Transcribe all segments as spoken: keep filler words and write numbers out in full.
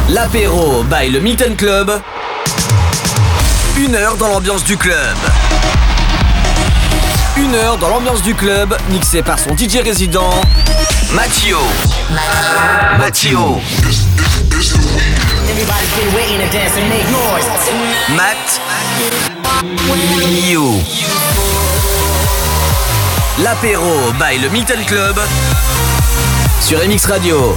L'apéro by le Milton Club. Une heure dans l'ambiance du club. Une heure dans l'ambiance du club, mixé par son D J résident, Mattio. Mattio. Matt. You. L'apéro by le Milton Club sur M X Radio.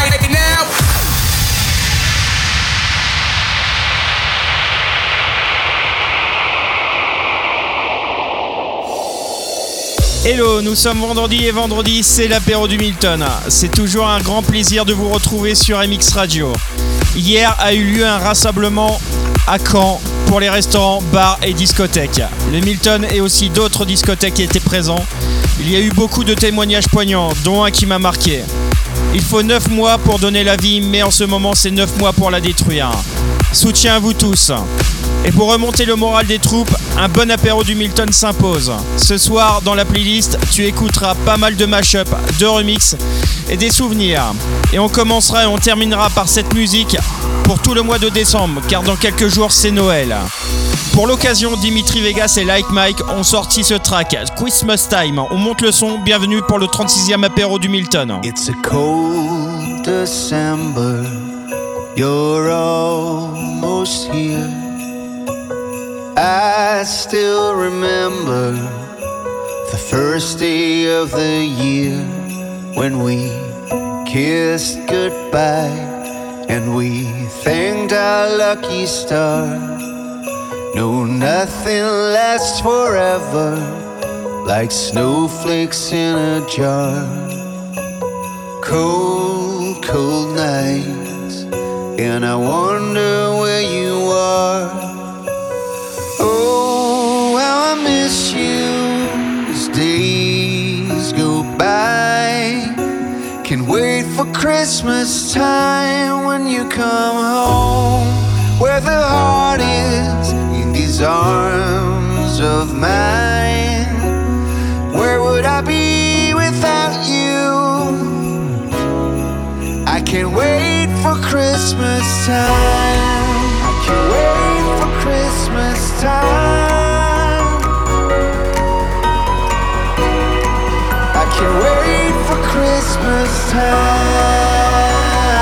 Hello, nous sommes vendredi et vendredi, c'est l'apéro du Milton. C'est toujours un grand plaisir de vous retrouver sur M X Radio. Hier a eu lieu un rassemblement à Caen pour les restaurants, bars et discothèques. Le Milton et aussi d'autres discothèques étaient présents. Il y a eu beaucoup de témoignages poignants, dont un qui m'a marqué. Il faut neuf mois pour donner la vie, mais en ce moment c'est neuf mois pour la détruire. Soutien à vous tous. Et pour remonter le moral des troupes, un bon apéro du Milton s'impose. Ce soir, dans la playlist, tu écouteras pas mal de mash-up, de remix et des souvenirs. Et on commencera et on terminera par cette musique pour tout le mois de décembre, car dans quelques jours, c'est Noël. Pour l'occasion, Dimitri Vegas et Like Mike ont sorti ce track, Christmas Time. On monte le son, bienvenue pour le trente-sixième apéro du Milton. It's a cold December, you're almost here. I still remember the first day of the year when we kissed goodbye and we thanked our lucky star. No, nothing lasts forever like snowflakes in a jar. Cold, cold nights, and I wonder where you are. Oh, how I miss you as days go by. Can't wait for Christmas time when you come home, where the heart is in these arms of mine. Where would I be without you? I can't wait for Christmas time. I can't wait for Christmas time. I can't wait for Christmas time.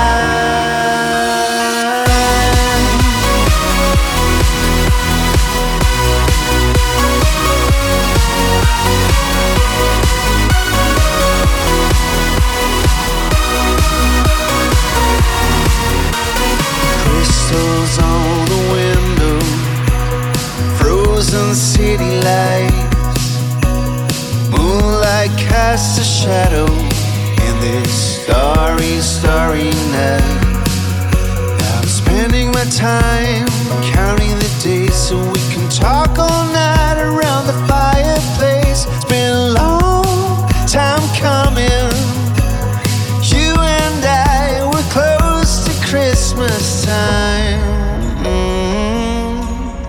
Crystals on the window, frozen city lights, moonlight casts a shadow in this starry, starry night. Now I'm spending my time counting the days so we can talk all night around the fireplace. It's been a long time coming. You and I were close to Christmas time. Mm-hmm.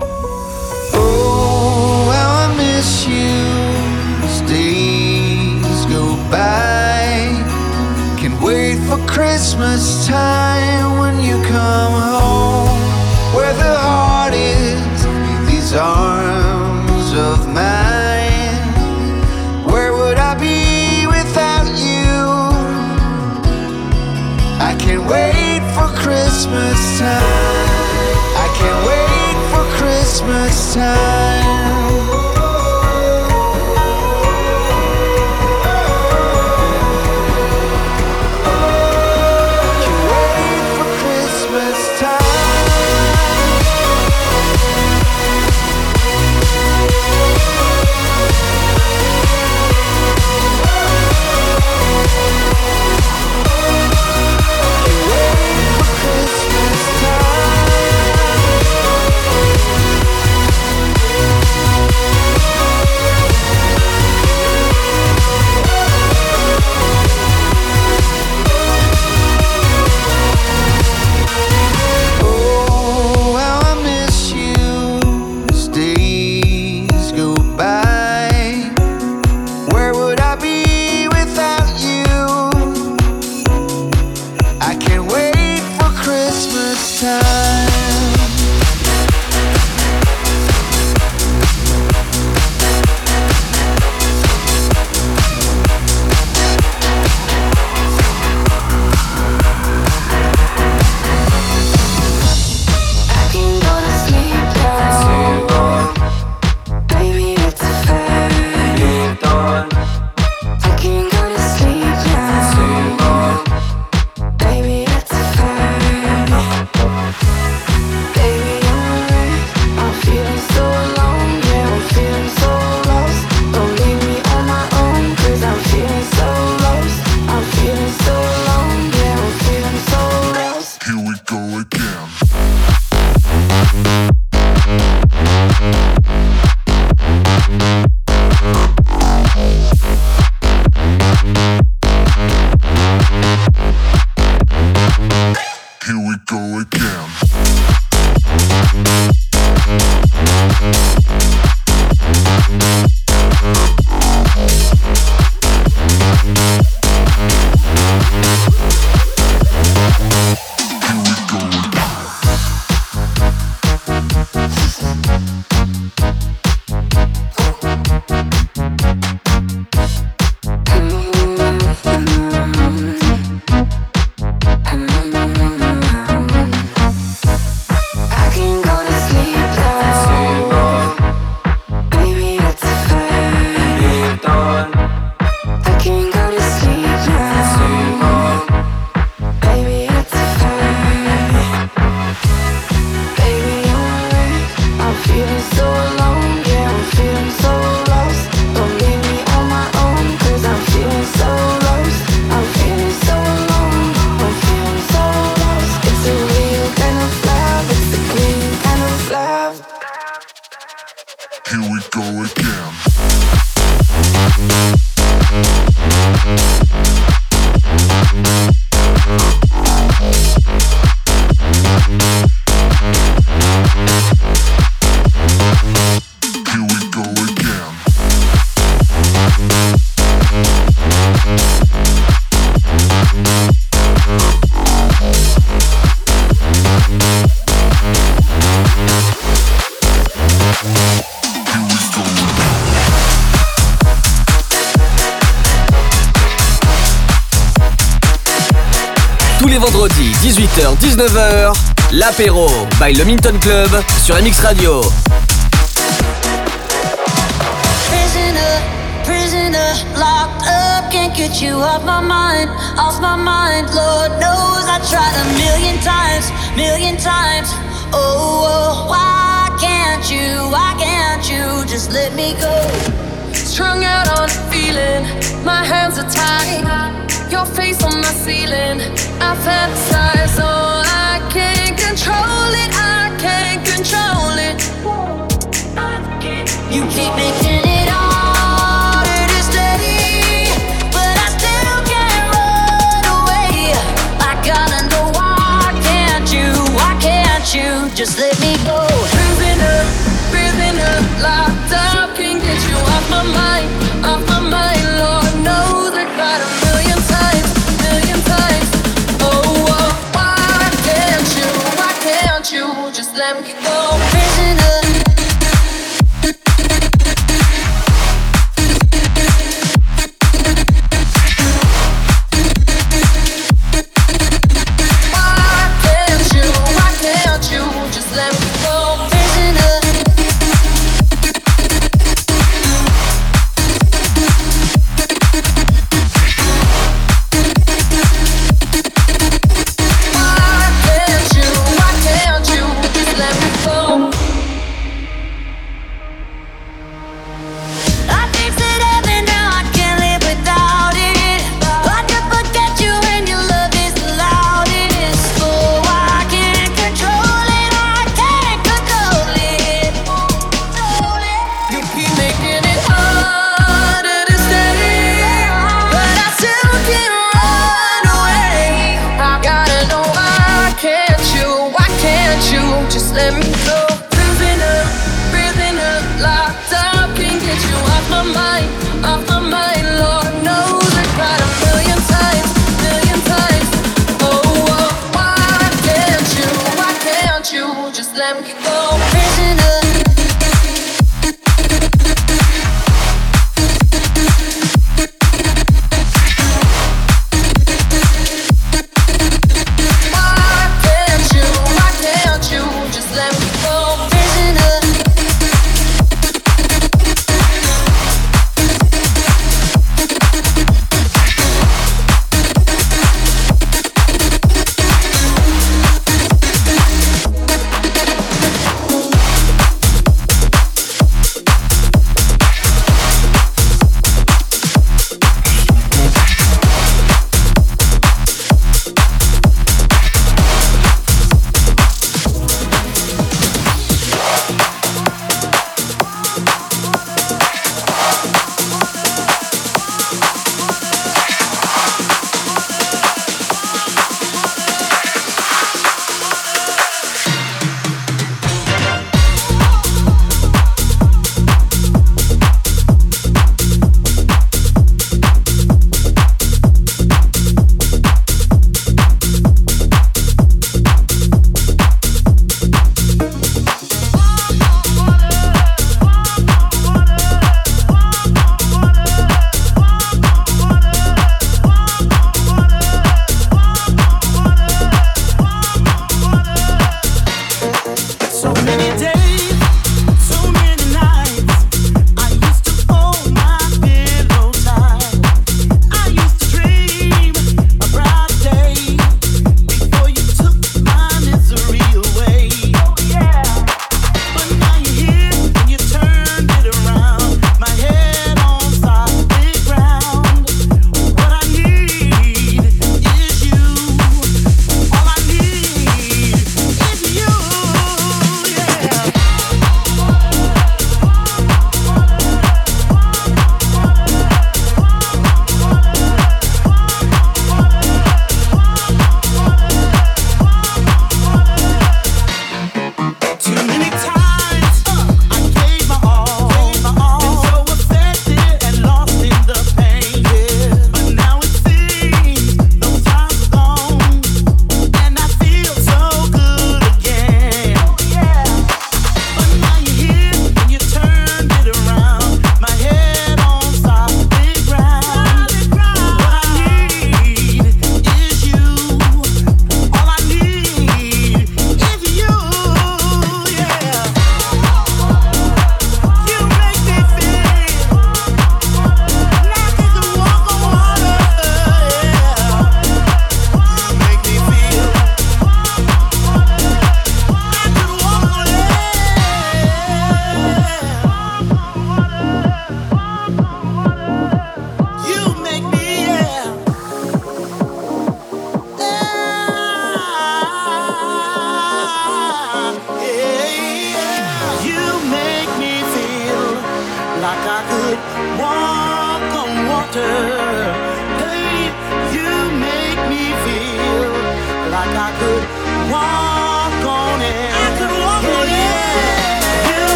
Oh, how I miss you as days go by. Can't wait for Christmas time when you come home, where the heart is in these arms of mine. Where would I be without you? I can't wait for Christmas time. I can't wait for Christmas time. Christmas time. Vendredi dix-huit heures dix-neuf heures, l'apéro by le Minton Club sur M X Radio. Prisoner, prisoner, locked up, can't get you off my mind, off my mind. Lord knows I tried a million times, million times. Oh, oh, why can't you, why can't you just let me go? Strung out on a feeling, my hands are tied. Your face on my ceiling, I fantasize, oh, I can't control it, I can't control it. You keep making it harder to stay, but I still can't run away. I gotta know why can't you, why can't you just let me go? Prisoner, prisoner, locked up, can't get you off my mind, off my mind. Lord knows I got a million times, million times. Oh, oh, why can't you, why can't you just let me go? Prisoner. let me go. Prisoner.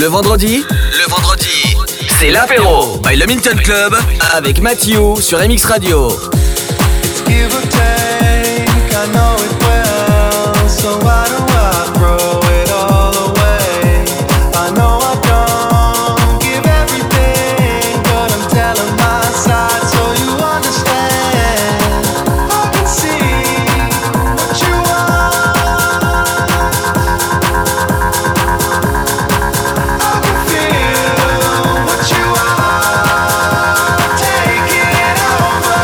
Le vendredi, le vendredi, c'est l'apéro by le Milton Club avec Mathieu sur M X Radio. Give or take, I know it well, so why do I throw it all away? I know I don't give everything, but I'm telling my side so you understand. I can see what you want, I can feel what you are. Take it over.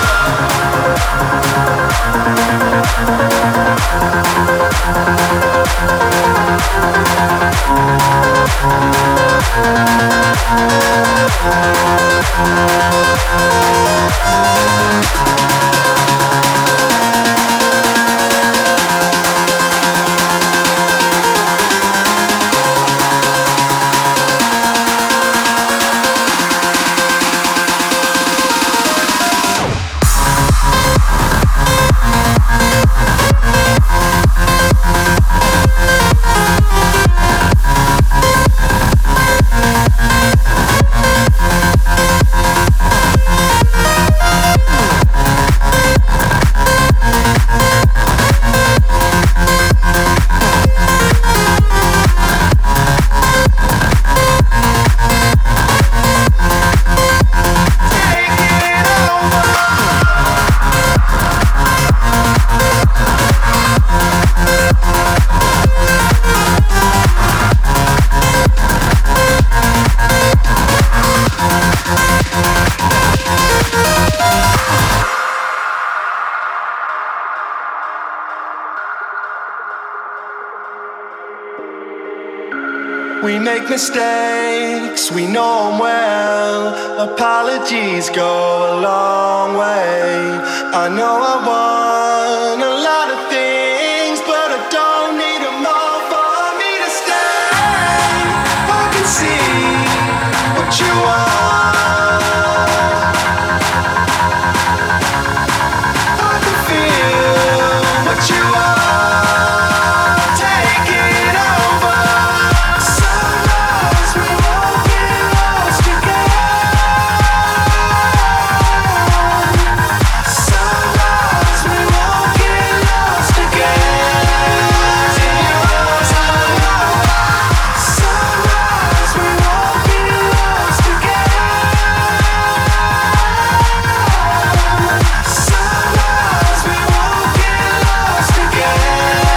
We make mistakes, we know them well. Apologies go a long way. I know I want a lot of things, but I don't need them all for me to stay. I can see what you want, I can feel what you are. Take it over. Sunrise, we won't get lost again. Sunrise, we won't get lost again. Sunrise, we won't get lost again. Sunrise, we won't get lost again.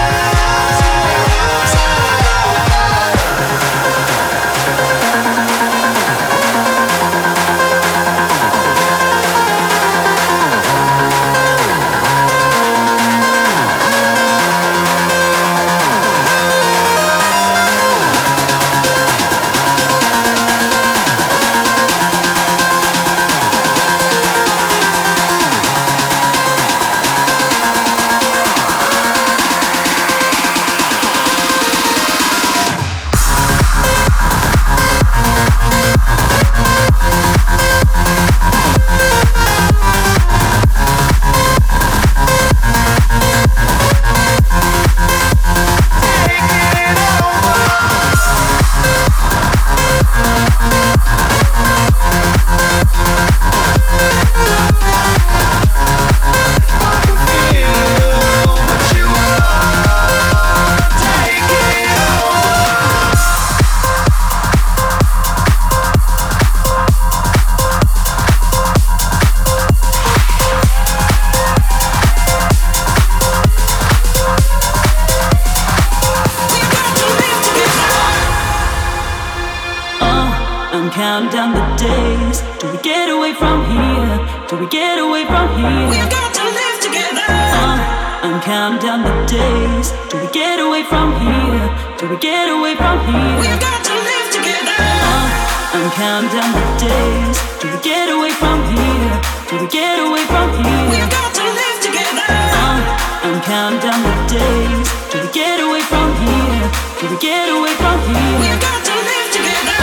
I'm counting down the days till we get away from here, till we get away from here. We've got to live together. Uh, I'm counting down the days till we get away from here, till we get away from here. We've got to live together. Uh, I'm counting down the days till we get away from here, till we get away from here. We've got to live together. Uh, I'm counting down the days till we get away from here, till we get away from here. We've got to live together.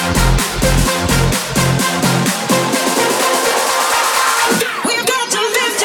We've got to live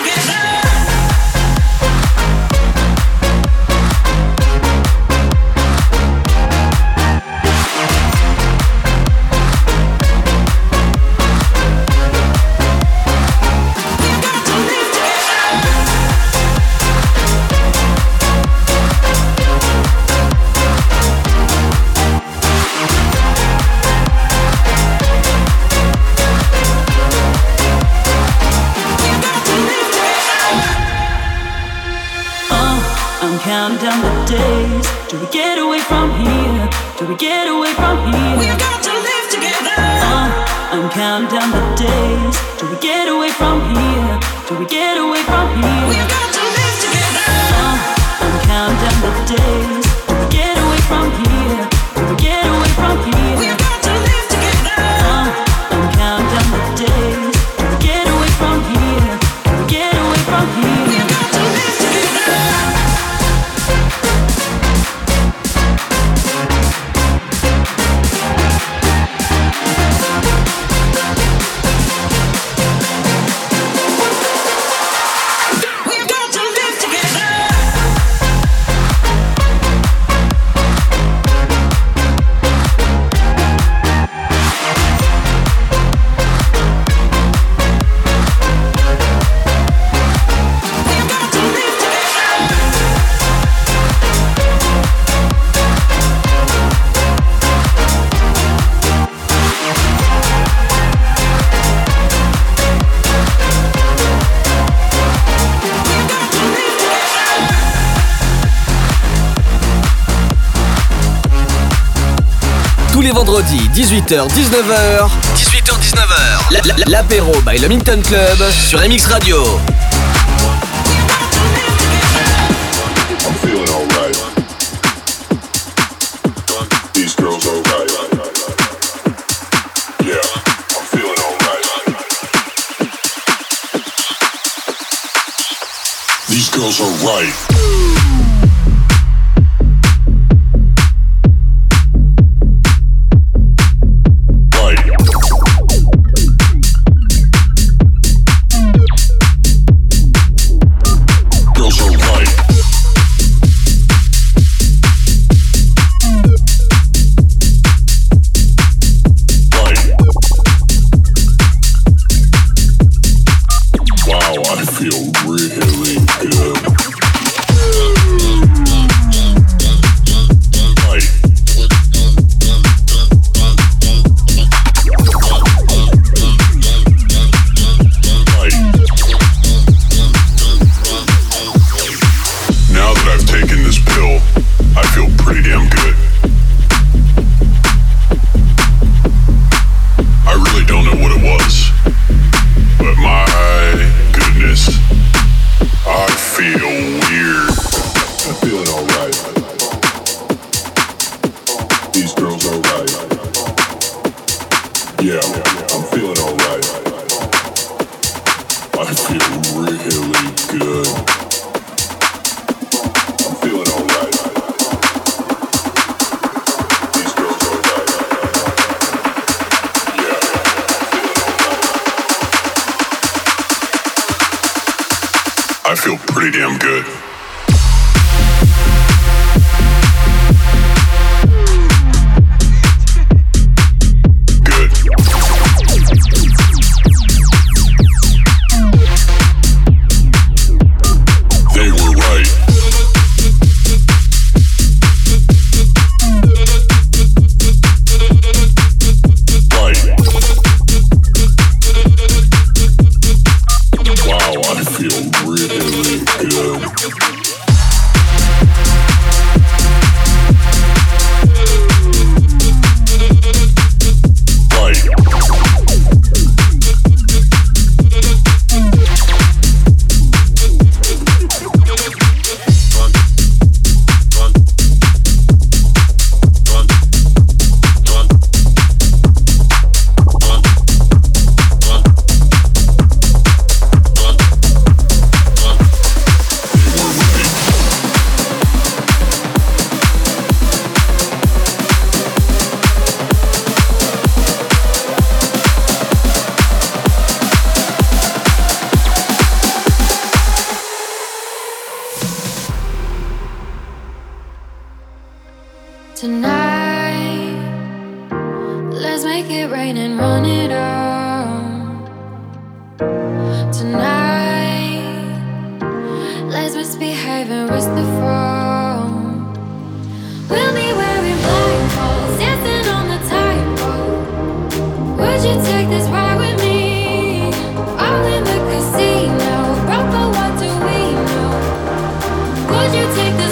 I'm counting down the days till we get away from here, till we get away from here. We've got to live together. Uh, I'm counting down the days till we get away from here, till we get away from here. We've got to live together. Uh, I'm counting down the days till we get away from here, till we get away from here. We've got to live together. Uh, I'm counting down the days till we get away from here, till we get away from here. We've got to live together. Les vendredis dix-huit heures dix-neuf heures dix-huit heures dix-neuf heures la, la, l'apéro by le Minton Club sur M X Radio. I'm feeling alright. These girls are right. Yeah, I'm feeling alright. These girls are right. Would you take the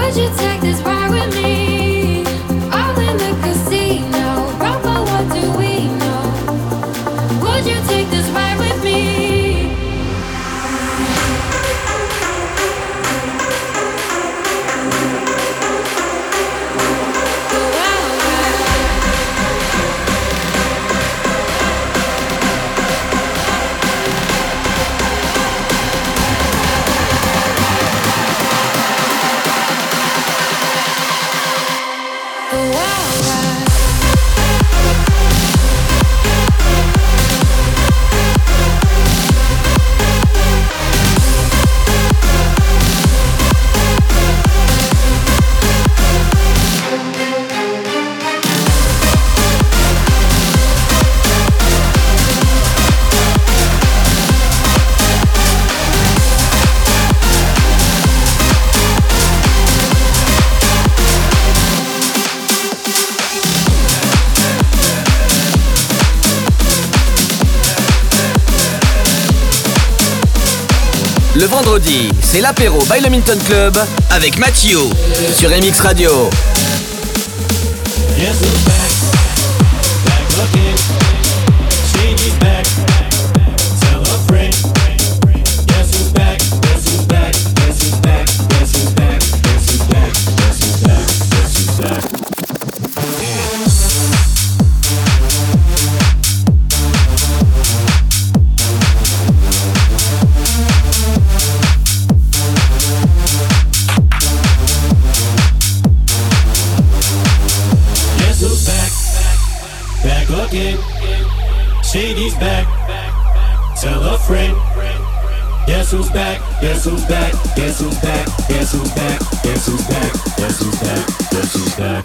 Le vendredi, c'est l'apéro by le Minton Club avec Mathieu sur M X Radio. Yes, who's back? Back again. Shady's back. Tell a friend. Guess who's back? Guess who's back? Guess who's back? Guess who's back? Guess who's back? Guess who's back? Guess who's back? Again. Shady's back. Tell a friend. Guess who's back? Guess who's back? Guess who's back? Guess who's back? Guess who's back? Guess who's back? Guess who's back?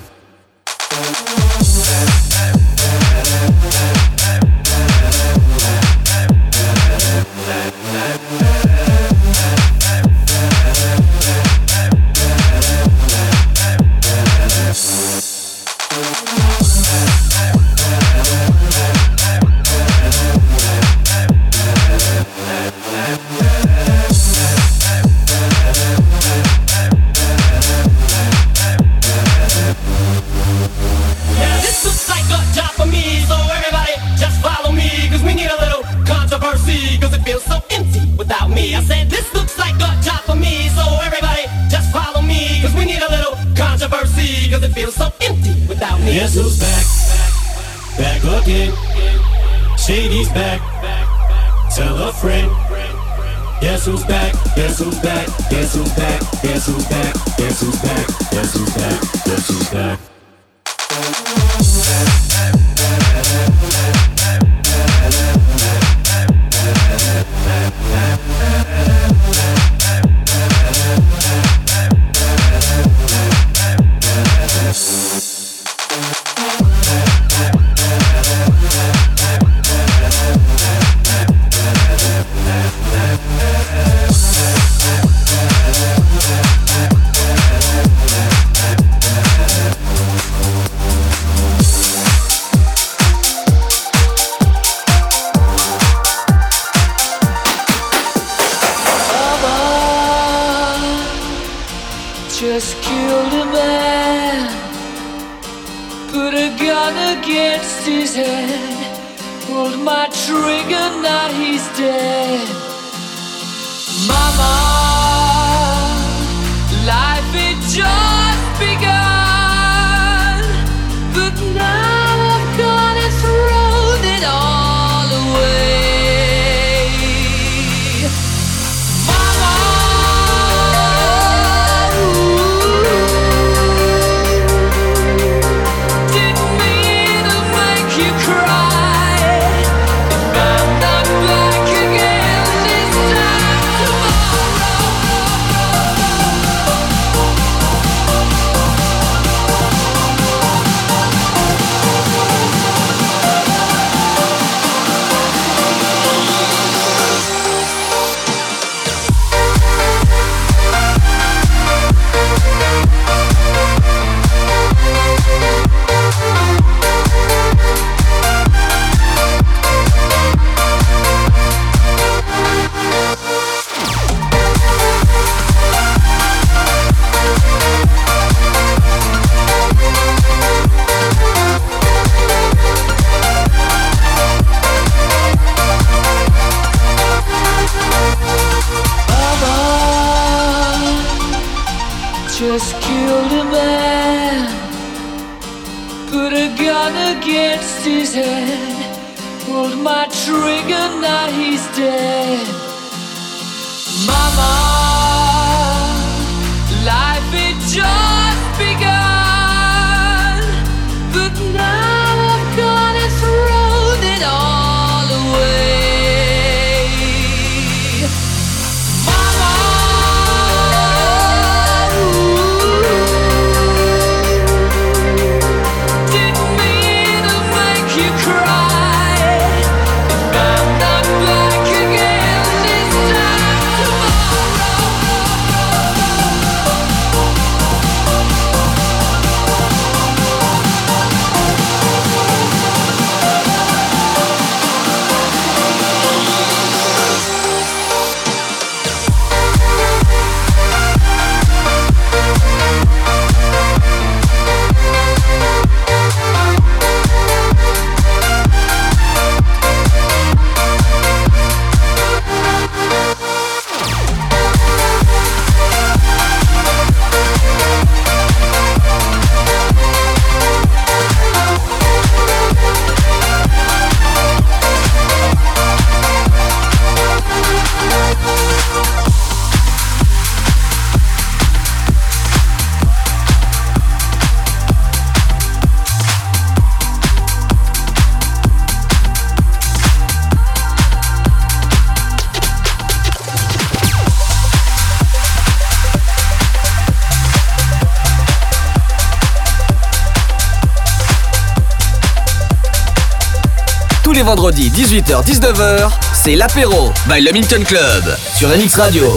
Guess who's back? Back again. Shady's back. Tell a friend. Guess who's back? Guess who's back? Guess who's back? Guess who's back? Guess who's back? Guess who's back? Guess who's back? Just killed a man, put a gun against his head, pulled my trigger, now he's dead. Mama, life had just begun, but now I've gone and thrown it all away. Tomorrow just killed a man. Put a gun against his head. Pulled my trigger, now he's dead. Mama, life had just begun, but now I've gone and thrown it all away. Mama, ooh, didn't mean to make you cry. If I'm not back again this time Tous les vendredis dix-huit heures dix-neuf heures, c'est l'apéro by le Milton Club sur M X Radio.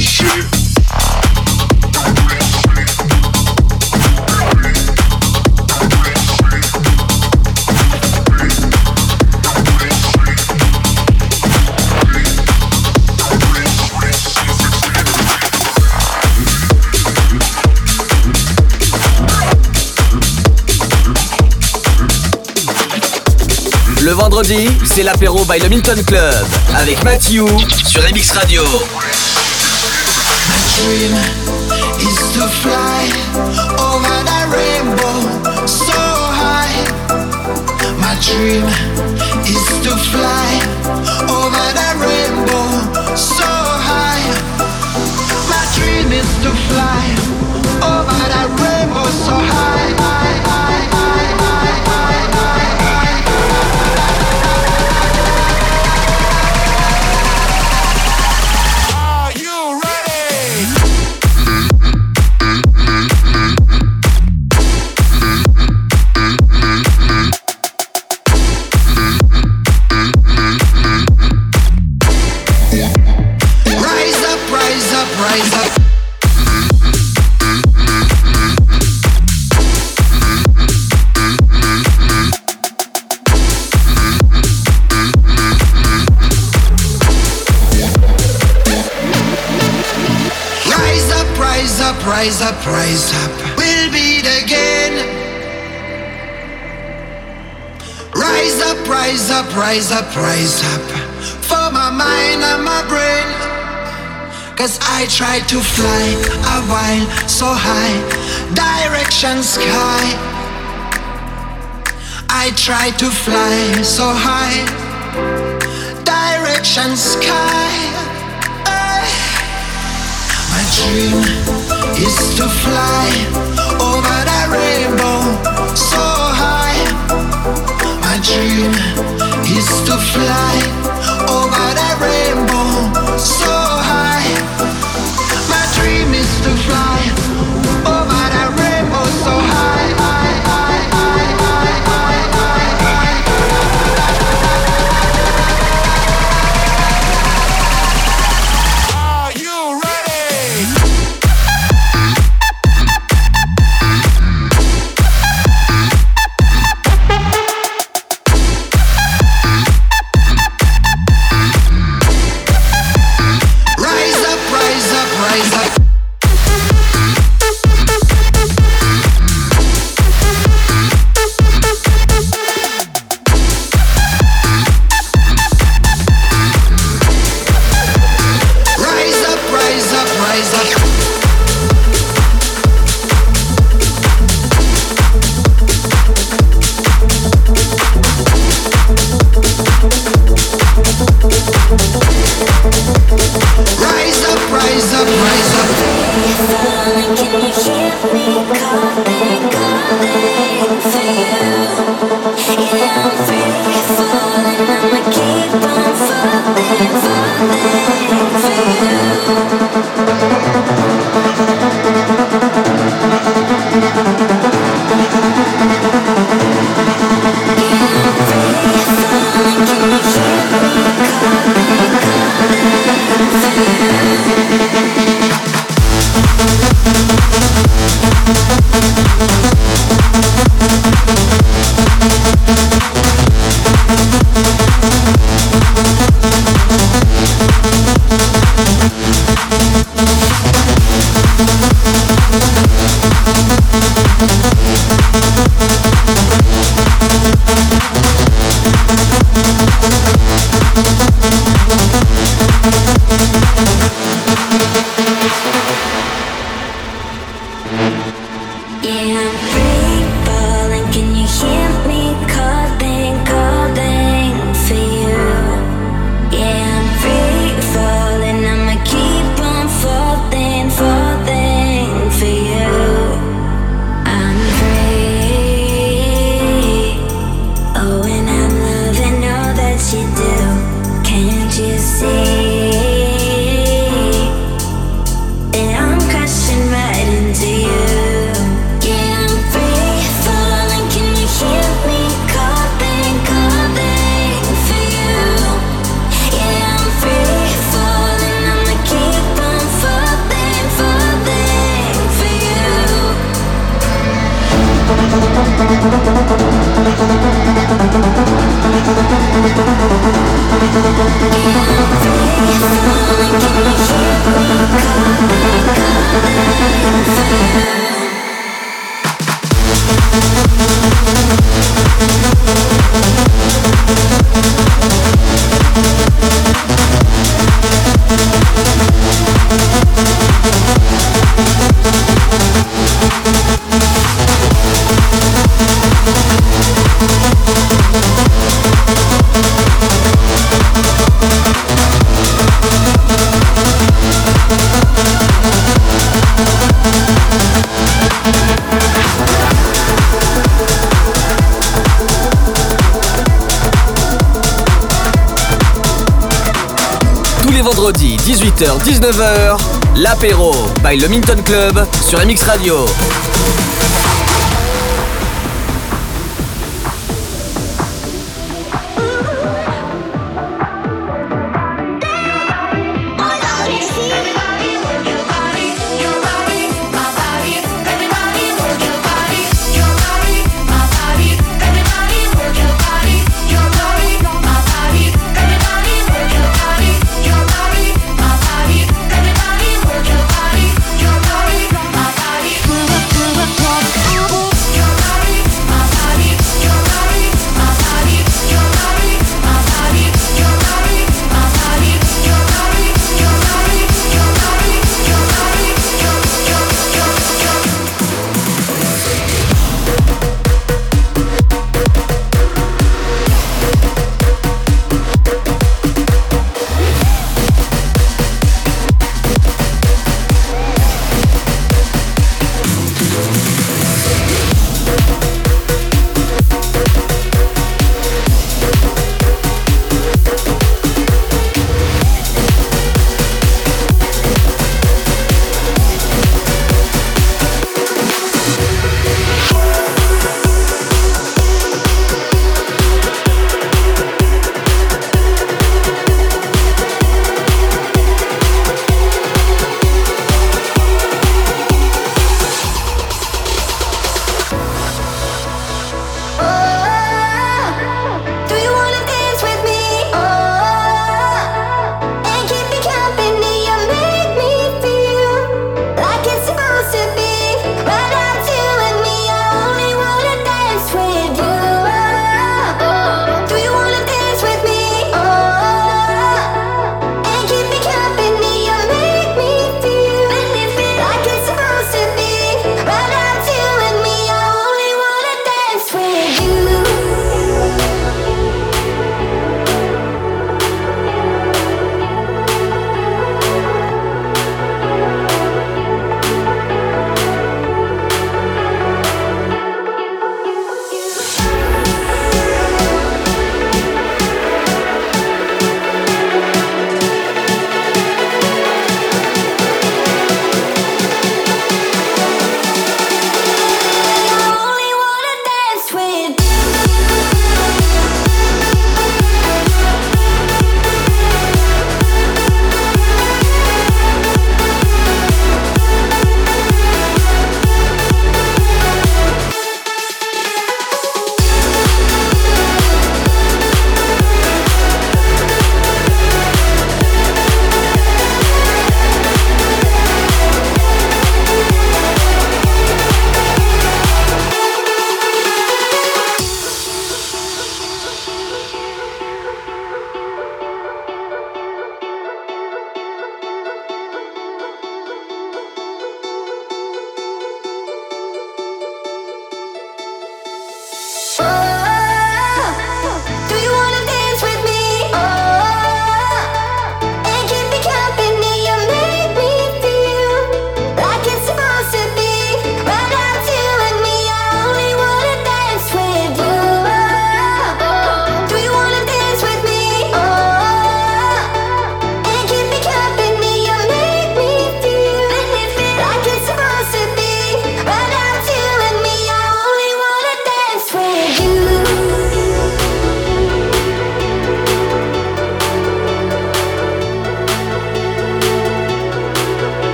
Le vendredi, c'est l'apéro by le Milton Club avec Mathieu sur M X Radio. My dream is to fly over the rainbow so high. My dream is to fly over the rainbow so high. My dream is to fly over the rainbow so high. high, high, high, high, high, high. Rise up, rise up, we'll beat again. Rise up, rise up, rise up, rise up, for my mind and my brain. Cause I tried to fly a while so high, direction sky. I tried to fly so high, direction sky. My dream is to fly over the rainbow so high. My dream is to fly over the rainbow so high. My dream is to fly over the rainbow so high. high, high, high, high, high, high, high. Are you ready? tous les vendredis dix-huit heures dix-neuf heures, l'apéro by le Minton Club sur M X Radio. Move up, move up,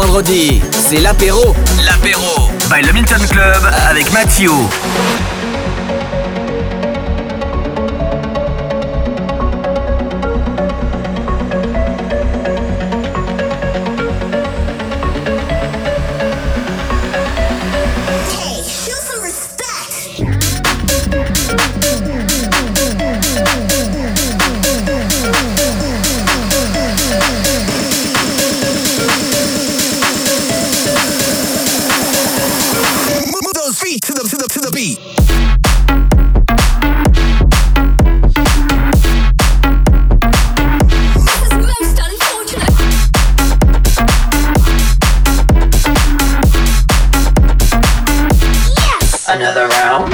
vendredi, c'est l'apéro. L'apéro by le Milton Club avec Mathieu. Another round.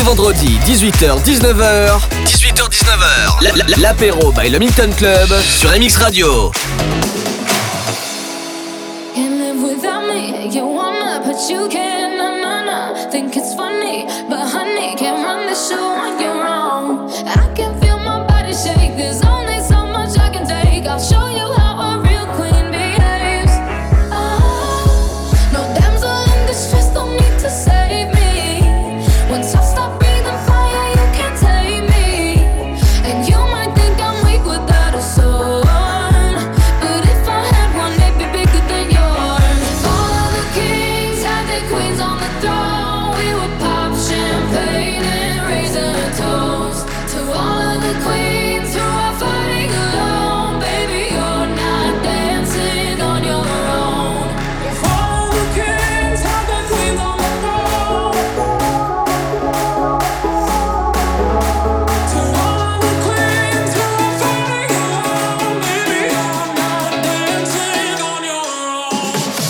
vendredis, dix-huit heures dix-neuf heures. dix-huit heures dix-neuf heures. La- la- L'apéro by le Milton Club sur M X Radio. Can't live without me. You wanna, but you can't. No, no, no. Think it's funny, but honey, can't run the show on your own. I can feel my body shake. There's only so much I can take. I'll show you how a real queen behaves. Oh, no damsel in distress, don't need to save me. Once I stop breathing fire, you can't take me. And you might think I'm weak without a soul. But if I had one, they'd be bigger than yours. All of the kings had their queens on the throne. We would pop champagne and raise a toast to all of the queens who are fighting alone. Baby, you're not dancing on your own. If all the kings had their queens on the throne, to all of the queens who are fighting alone, baby, you're not dancing on your own.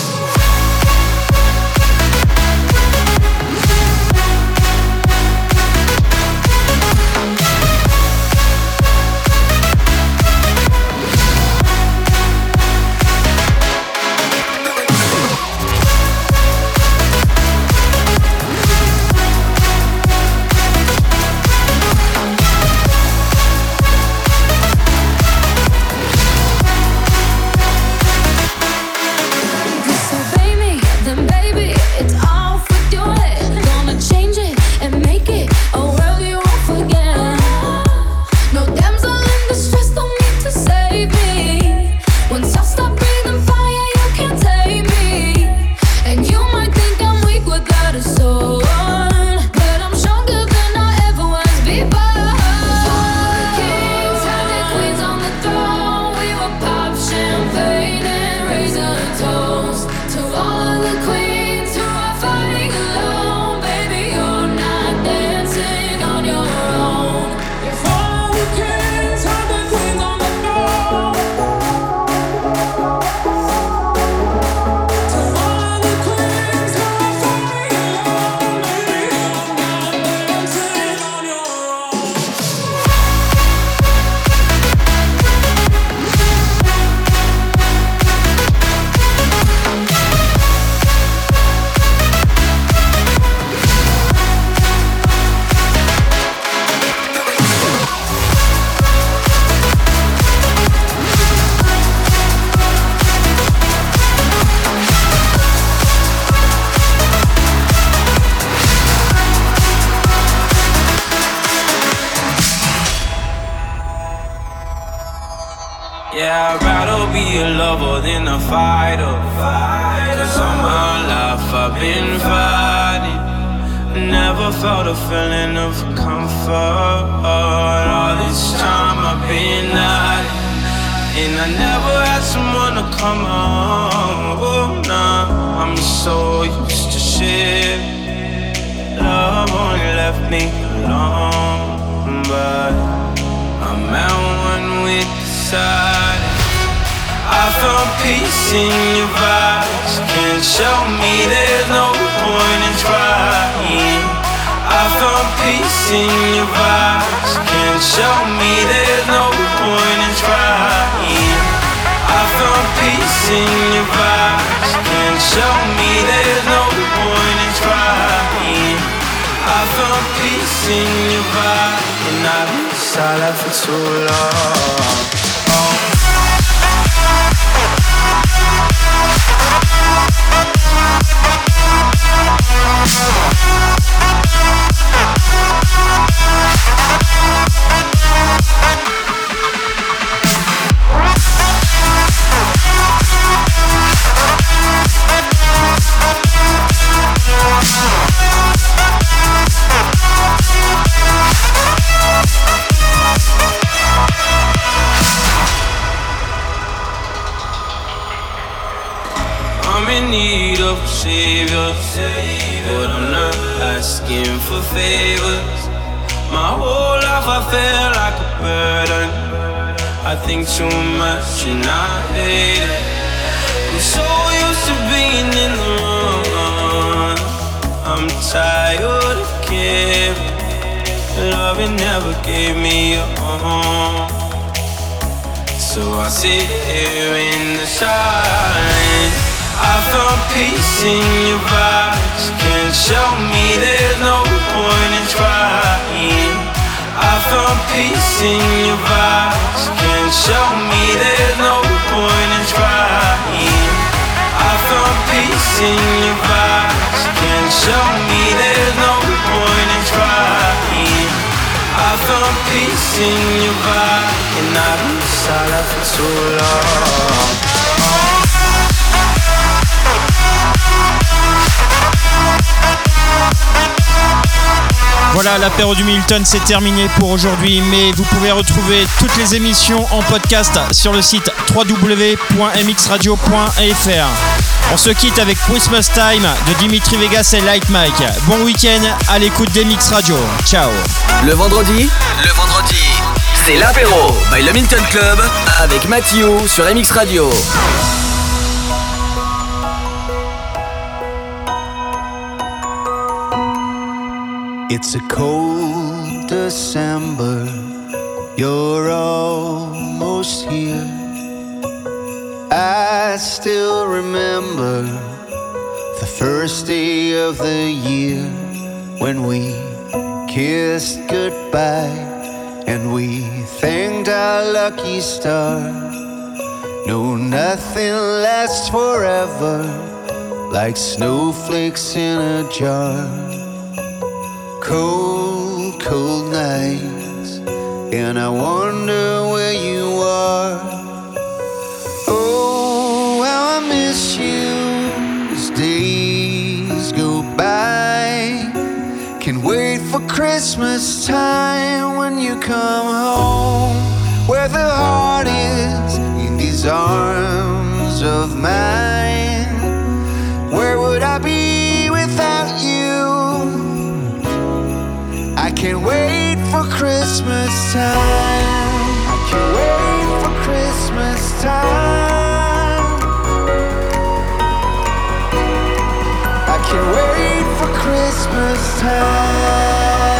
Disobey me, then baby, it's all for your head. Gonna change it and make it a world you won't forget. No damsel in distress, don't need to save me. Once I stop breathing fire, you can't take me. And you might think I'm weak without a soul, but I'm stronger than I ever was before. All the kings had their queens on the throne. We would pop champagne and raise a toast to all of the queens who are fighting alone. Baby, you're not dancing on your own. If all the kings had their queens on the throne, to all of the queens who are fighting alone, baby, you're not dancing on your own. Yeah, I'd rather be a lover than a fighter. Cause all my life I've been fighting. Never felt a feeling of comfort. All this time I've been hiding. And I never had someone to come home. Oh, nah, I'm so used to shit. Love only left me alone. But I'm at one with the silence. I found peace in your vibes. Can't show me there's no point in trying. I found peace in your vibes. Can't show me there's no point in trying. I found peace in your vibes. Can't show me there's no point in trying. I found peace in your vibe, and I've been silent for too long. I'm in need of a savior, but I'm not asking for favors. My whole life I feel like a burden. I think too much and I hate it. I'm so used to being in the wrong. I'm tired of caring. love it never gave me a home. So I sit here in the silence. I found peace in your vibes. Can't show me there's no point in trying. I found peace in your vibes. Can't show me there's no point in trying. I found peace in your vibes. Can't show me there's no point in trying. I found peace in your vibe, and I've been silent for too long. Voilà, l'apéro du Milton, c'est terminé pour aujourd'hui, mais vous pouvez retrouver toutes les émissions en podcast sur le site w w w point m x radio point f r. On se quitte avec Christmas Time de Dimitri Vegas et Light Mike. Bon week-end à l'écoute d'M X Radio. Ciao. Le vendredi, le vendredi, c'est l'apéro by le Milton Club avec Mathieu sur M X Radio. It's a cold December, you're almost here. I still remember the first day of the year when we kissed goodbye and we thanked our lucky star. No, nothing lasts forever like snowflakes in a jar. Cold, cold nights, and I wonder where you are. Oh, how I miss you as days go by. Can't wait for Christmas time when you come home, where the heart is in these arms of mine. Where would I be without you? I can't wait for Christmas time. I can't wait for Christmas time. I can't wait for Christmas time.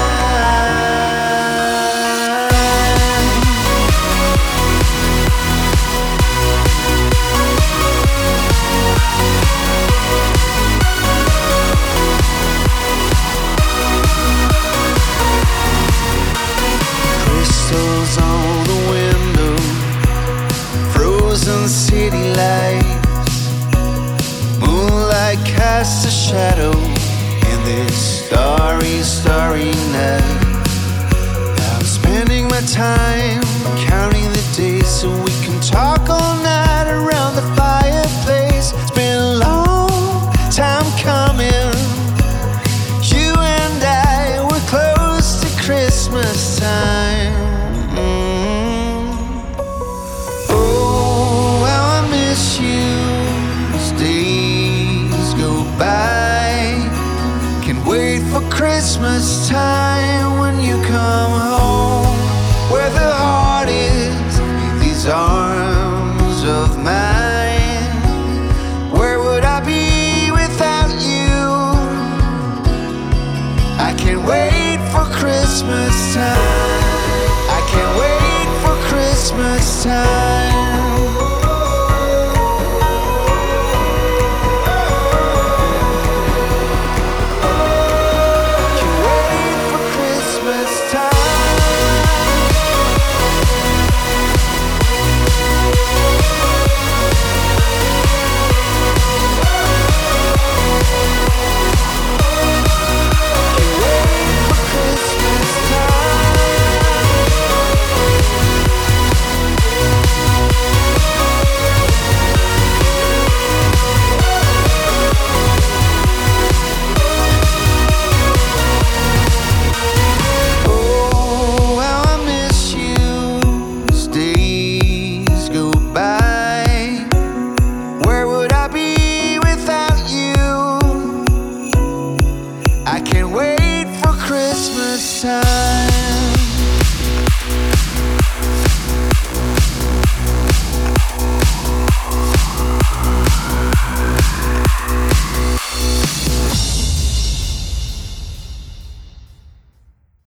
On the window, frozen city lights, moonlight casts a shadow in this starry, starry night. Now I'm spending my time counting the days so we can talk all night around the fireplace. It's been a long time coming. You and I were close to Christmas time. Christmas time when you come home, where the heart is in these arms of mine. Where would I be without you? I can't wait for Christmas time. I can't wait for Christmas time.